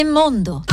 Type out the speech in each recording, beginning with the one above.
Mondo.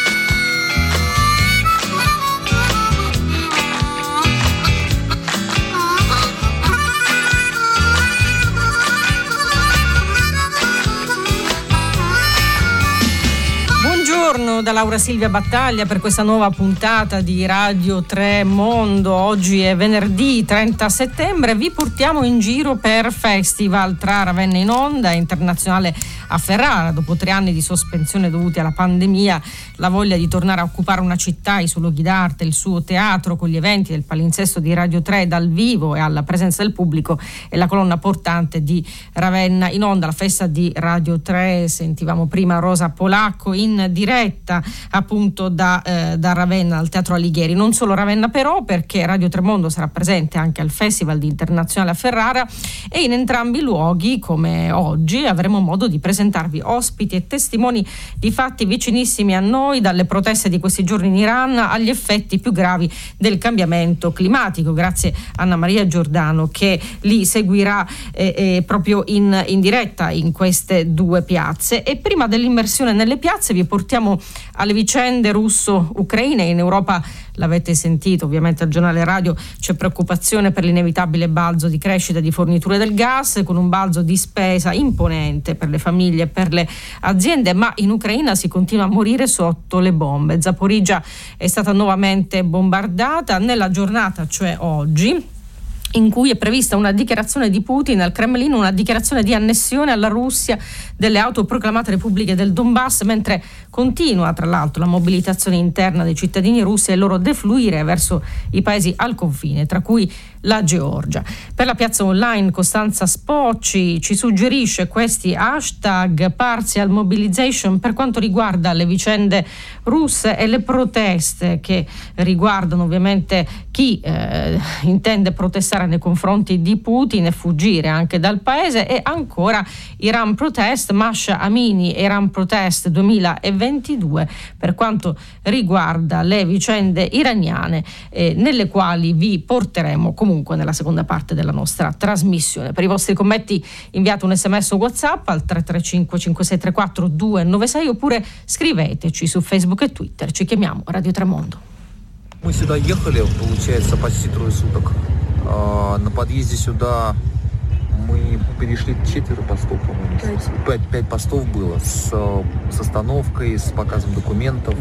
Buongiorno da Laura Silvia Battaglia per questa nuova puntata di Radio 3 Mondo. Oggi è venerdì 30 settembre, vi portiamo in giro per festival tra Ravenna in Onda e Internazionale a Ferrara. Dopo 3 anni di sospensione dovuti alla pandemia, la voglia di tornare a occupare una città, i suoi luoghi d'arte, il suo teatro con gli eventi del palinsesto di Radio 3 dal vivo e alla presenza del pubblico è la colonna portante di Ravenna in Onda, la festa di Radio 3. Sentivamo prima Rosa Polacco in diretta appunto da Ravenna al Teatro Alighieri. Non solo Ravenna però, perché Radio 3 Mondo sarà presente anche al Festival di Internazionale a Ferrara e in entrambi i luoghi, come oggi, avremo modo di presentarvi ospiti e testimoni di fatti vicinissimi a noi, dalle proteste di questi giorni in Iran agli effetti più gravi del cambiamento climatico, grazie a Anna Maria Giordano che li seguirà proprio in diretta in queste 2 piazze. E prima dell'immersione nelle piazze vi portiamo alle vicende russo-ucraine. In Europa, l'avete sentito ovviamente al giornale radio, c'è preoccupazione per l'inevitabile balzo di crescita di forniture del gas, con un balzo di spesa imponente per le famiglie e per le aziende, ma in Ucraina si continua a morire sotto le bombe. Zaporizhzhia è stata nuovamente bombardata nella giornata, cioè oggi, in cui è prevista una dichiarazione di Putin al Cremlino, una dichiarazione di annessione alla Russia delle autoproclamate repubbliche del Donbass, mentre continua tra l'altro la mobilitazione interna dei cittadini russi e il loro defluire verso i paesi al confine, tra cui la Georgia. Per la piazza online Costanza Spocci ci suggerisce questi hashtag partial mobilization per quanto riguarda le vicende russe e le proteste che riguardano ovviamente chi intende protestare nei confronti di Putin e fuggire anche dal paese. E ancora Iran Protest, Masha Amini Iran Protest 2022 per quanto riguarda le vicende iraniane, nelle quali vi porteremo comunque nella seconda parte della nostra trasmissione. Per i vostri commenti inviate un sms o WhatsApp al 335 5634 296 oppure scriveteci su Facebook e Twitter. Ci chiamiamo Radio 3 Mondo. Мы сюда ехали, получается, почти 3 суток. На подъезде сюда мы перешли 4 постов, по-моему. 5 постов было с остановкой, с показом документов.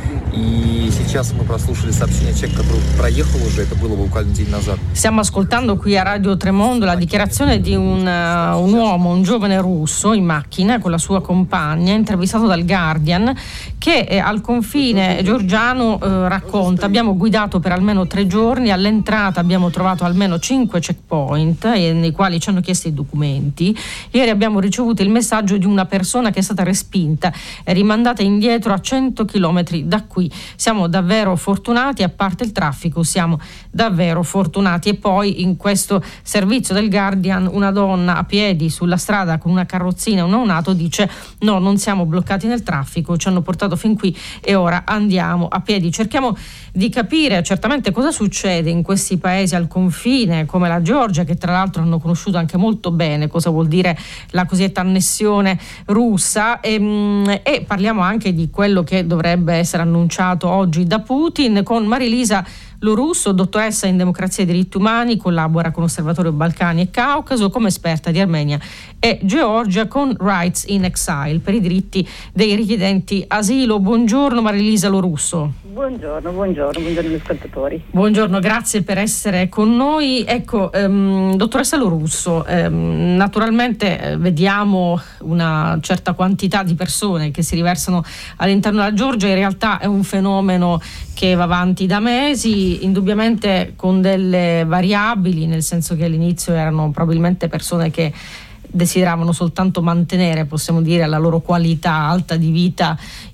И сейчас мы прослушали сообщение человека, который проехал уже, это было буквально день назад. Stiamo ascoltando qui a Radio 3 Mondo la dichiarazione di un uomo, un giovane russo in macchina con la sua compagna, intervistato dal Guardian, che al confine georgiano racconta: abbiamo guidato per almeno 3 giorni, all'entrata abbiamo trovato almeno 5 checkpoint nei quali ci hanno chiesto i documenti. Ieri abbiamo ricevuto il messaggio di una persona che è stata respinta e rimandata indietro a 100 chilometri da qui. Siamo davvero fortunati, a parte il traffico siamo davvero fortunati. E poi in questo servizio del Guardian una donna a piedi sulla strada con una carrozzina e un neonato dice: no, non siamo bloccati nel traffico, ci hanno portato fin qui e ora andiamo a piedi. Cerchiamo di capire certamente cosa succede in questi paesi al confine come la Georgia, che tra l'altro hanno conosciuto anche molto bene cosa vuol dire la cosiddetta annessione russa, e parliamo anche di quello che dovrebbe essere annunciato oggi da Putin con Marilisa Lorusso, dottoressa in democrazia e diritti umani, collabora con Osservatorio Balcani e Caucaso come esperta di Armenia e Georgia con Rights in Exile per i diritti dei richiedenti asilo. Buongiorno Marilisa Lorusso. Buongiorno agli ascoltatori. Buongiorno, grazie per essere con noi. Ecco, dottoressa Lorusso, naturalmente vediamo una certa quantità di persone che si riversano all'interno della Georgia. In realtà è un fenomeno che va avanti da mesi, indubbiamente con delle variabili, nel senso che all'inizio erano probabilmente persone che desideravano soltanto mantenere, possiamo dire, la loro qualità alta di vita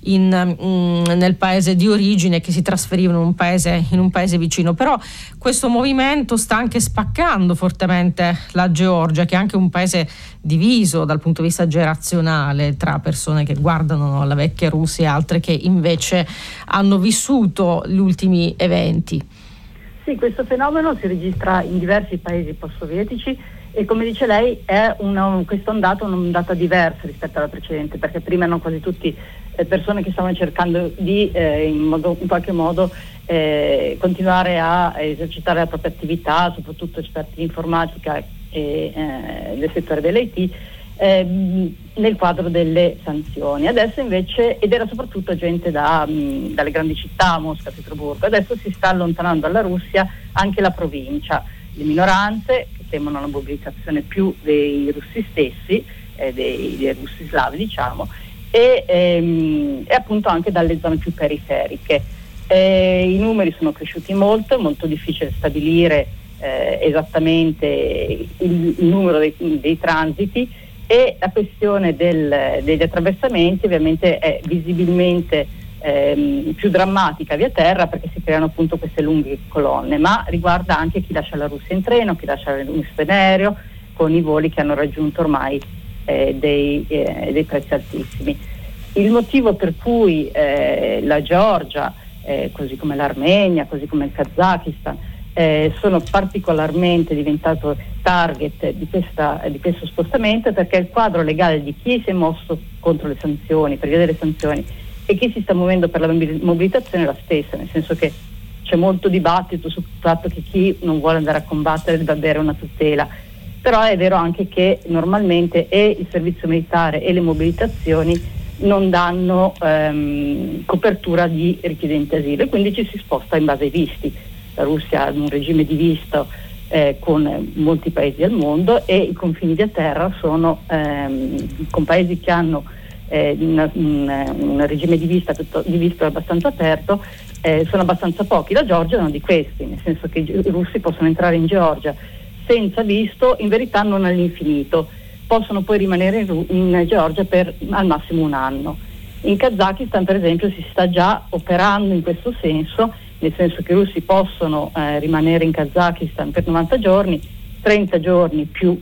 nel paese di origine, che si trasferivano in un paese vicino. Però questo movimento sta anche spaccando fortemente la Georgia, che è anche un paese diviso dal punto di vista generazionale tra persone che guardano alla vecchia Russia e altre che invece hanno vissuto gli ultimi eventi. Sì, questo fenomeno si registra in diversi paesi post-sovietici e, come dice lei, è questa ondata un'ondata diversa rispetto alla precedente, perché prima erano quasi tutti persone che stavano cercando di in qualche modo continuare a esercitare la propria attività, soprattutto esperti di informatica e del settore dell'IT, nel quadro delle sanzioni. Adesso invece, ed era soprattutto gente dalle grandi città, Mosca, Pietroburgo, adesso si sta allontanando dalla Russia anche la provincia, le minoranze che temono la mobilitazione più dei russi stessi, dei russi slavi diciamo, e appunto anche dalle zone più periferiche. I numeri sono cresciuti molto, è molto difficile stabilire esattamente il numero dei transiti, e la questione degli attraversamenti ovviamente è visibilmente più drammatica via terra, perché si creano appunto queste lunghe colonne, ma riguarda anche chi lascia la Russia in treno, chi lascia la Russia in aereo, con i voli che hanno raggiunto ormai dei prezzi altissimi. Il motivo per cui la Georgia, così come l'Armenia, così come il Kazakistan, sono particolarmente diventato target di questo spostamento, perché il quadro legale di chi si è mosso contro le sanzioni, per via delle sanzioni, e chi si sta muovendo per la mobilitazione è la stessa, nel senso che c'è molto dibattito sul fatto che chi non vuole andare a combattere deve avere una tutela, però è vero anche che normalmente e il servizio militare e le mobilitazioni non danno copertura di richiedenti asilo, e quindi ci si sposta in base ai visti. La Russia ha un regime di visto con molti paesi al mondo, e i confini via terra sono con paesi che hanno un regime di visto abbastanza aperto, sono abbastanza pochi. La Georgia è uno di questi, nel senso che i russi possono entrare in Georgia senza visto, in verità non all'infinito, possono poi rimanere in Georgia per al massimo un anno. In Kazakistan per esempio si sta già operando in questo senso, nel senso che i russi possono rimanere in Kazakistan per 90 giorni, 30 giorni più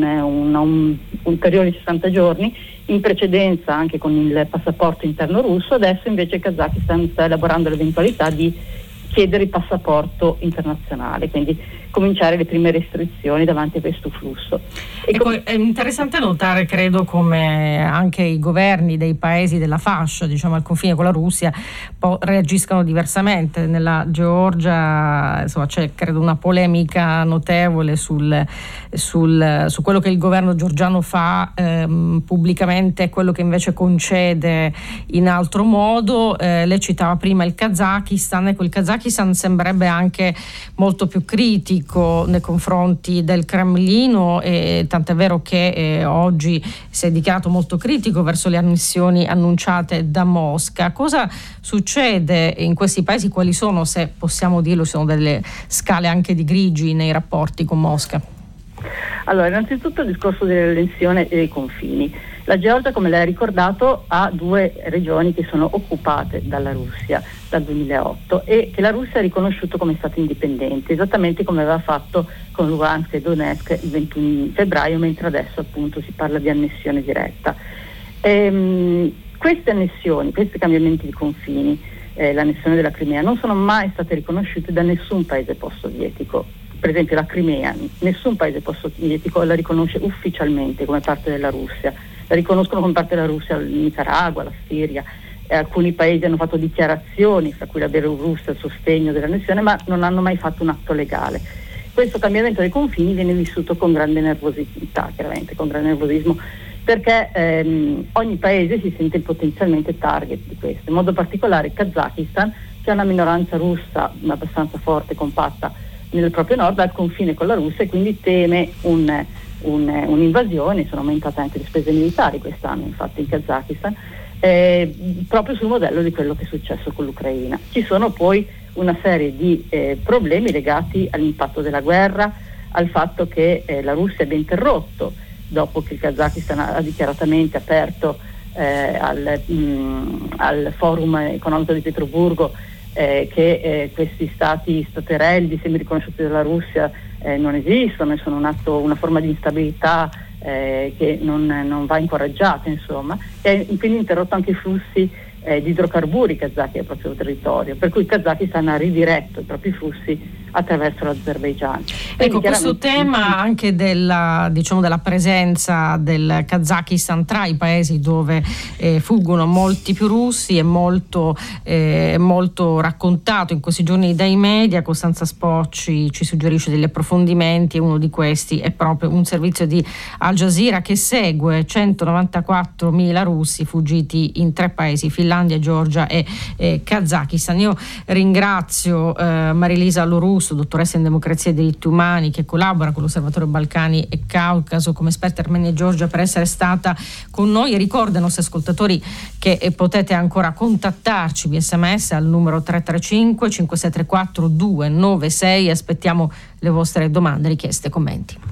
ulteriori 60 giorni, in precedenza anche con il passaporto interno russo. Adesso invece il Kazakistan sta elaborando l'eventualità di chiedere il passaporto internazionale, quindi cominciare le prime restrizioni davanti a questo flusso. Ecco, è interessante notare, credo, come anche i governi dei paesi della fascia, diciamo al confine con la Russia, reagiscano diversamente. Nella Georgia, insomma, c'è credo una polemica notevole su quello che il governo georgiano fa pubblicamente e quello che invece concede in altro modo. Lei citava prima il Kazakistan, ecco, il Kazakistan sembrerebbe anche molto più critico nei confronti del Cremlino, e tant'è vero che oggi si è dichiarato molto critico verso le annessioni annunciate da Mosca. Cosa succede in questi paesi? Quali sono, se possiamo dirlo, sono delle scale anche di grigi nei rapporti con Mosca? Allora, innanzitutto il discorso delle tensioni e dei confini. La Georgia, come lei ha ricordato, ha 2 regioni che sono occupate dalla Russia dal 2008 e che la Russia ha riconosciuto come stato indipendente, esattamente come aveva fatto con Lugansk e Donetsk il 21 febbraio, mentre adesso appunto si parla di annessione diretta. Queste annessioni, questi cambiamenti di confini, l'annessione della Crimea, non sono mai state riconosciute da nessun paese post-sovietico. Per esempio la Crimea, nessun paese post-sovietico la riconosce ufficialmente come parte della Russia. La riconoscono come parte della Russia il Nicaragua, la Siria, alcuni paesi hanno fatto dichiarazioni, fra cui la Bielorussia, il sostegno dell'annessione, ma non hanno mai fatto un atto legale. Questo cambiamento dei confini viene vissuto con grande nervosità, chiaramente, con grande nervosismo, perché ogni paese si sente potenzialmente target di questo, in modo particolare il Kazakistan, che ha una minoranza russa abbastanza forte, compatta nel proprio nord, al confine con la Russia, e quindi teme un'invasione. Sono aumentate anche le spese militari quest'anno, infatti, in Kazakistan, proprio sul modello di quello che è successo con l'Ucraina. Ci sono poi una serie di problemi legati all'impatto della guerra, al fatto che la Russia abbia interrotto, dopo che il Kazakistan ha dichiaratamente aperto al forum economico di Pietroburgo che questi staterelli semi-riconosciuti dalla Russia non esistono e sono una forma di instabilità che non va incoraggiata, insomma, e quindi interrotto anche i flussi di idrocarburi kazaki al proprio territorio, per cui il Kazakistan ha ridiretto i propri flussi attraverso l'Azerbaigian. Ecco, questo tema anche della presenza del Kazakistan tra i paesi dove fuggono molti più russi è molto raccontato in questi giorni dai media. Costanza Spocci ci suggerisce degli approfondimenti e uno di questi è proprio un servizio di Al Jazeera che segue 194.000 russi fuggiti in 3 paesi, Finlandia, Georgia e Kazakistan. Io ringrazio Marilisa Lorusso, dottoressa in democrazia e diritti umani, che collabora con l'Osservatorio Balcani e Caucaso come esperta Armenia e Georgia, per essere stata con noi, e ricordo ai nostri ascoltatori che potete ancora contattarci via SMS al numero 335 5634 296. Aspettiamo le vostre domande, richieste, commenti.